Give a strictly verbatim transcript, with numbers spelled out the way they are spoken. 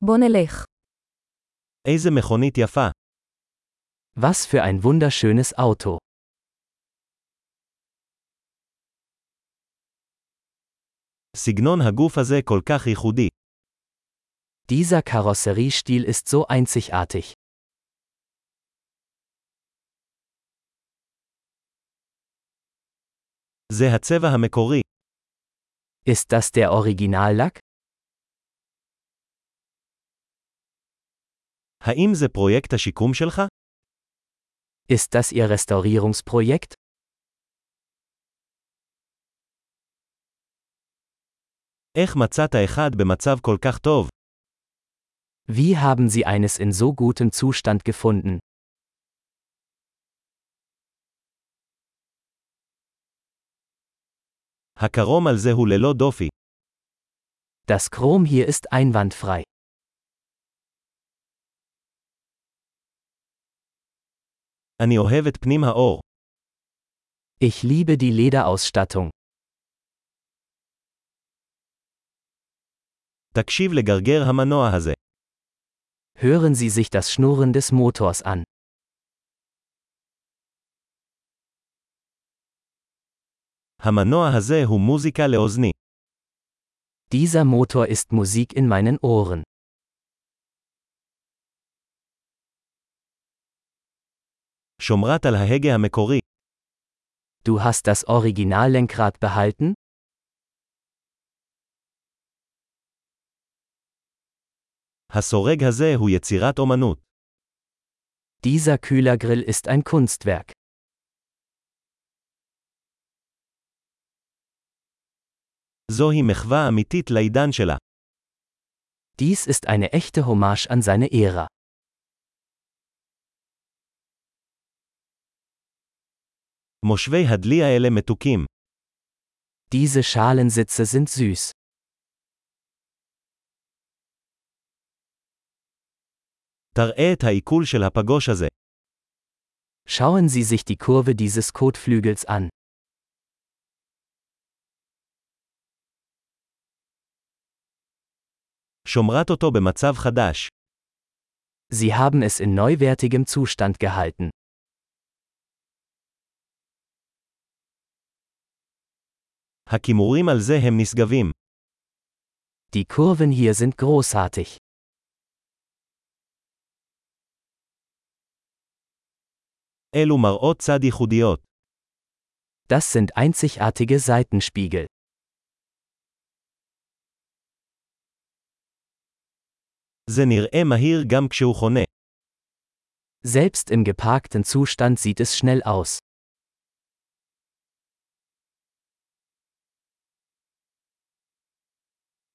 בוא נלך. איזה מכונית יפה. Was für ein wunderschönes Auto. סגנון הגוף הזה כל כך ייחודי. Dieser Karosseriestil ist so einzigartig. זה הצבע המקורי. Ist das der Originallack? האם זה פרויקט השיקום שלך? Ist das Ihr Restaurierungsprojekt? איך מצאת אחד במצב כל כך טוב? Wie haben Sie eines in so gutem Zustand gefunden? הקרום על זה הוא ללא דופי. Das Chrom hier ist einwandfrei. אני אוהב את פנים האור. Ich liebe die Lederausstattung. תקשיב לגרגר המנוע הזה. Hören Sie sich das Schnurren des Motors an. המנוע הזה הוא מוזיקה לאוזני. Dieser Motor ist Musik in meinen Ohren. שומרת על ההגה המקורי. Du hast das Originallenkrad behalten? הסורג הזה הוא יצירת אומנות. Dieser Kühlergrill ist ein Kunstwerk. זוהי מחווה אמיתית לעידן שלה. Dies ist eine echte Hommage an seine Ära. מושבי הדלי האלה מתוקים. Diese Schalensitze sind süß. תראה את העיכול של הפגוש הזה. Schauen Sie sich die Kurve dieses Kotflügels an. שומרת אותו במצב חדש. Sie haben es in neuwertigem Zustand gehalten. הכימורים על זה הם נשגבים. Die Kurven hier sind großartig. אלו מראות צד ייחודיות. Das sind einzigartige Seitenspiegel. זה נראה מהיר גם כשהוא חונה. Selbst im geparkten Zustand sieht es schnell aus.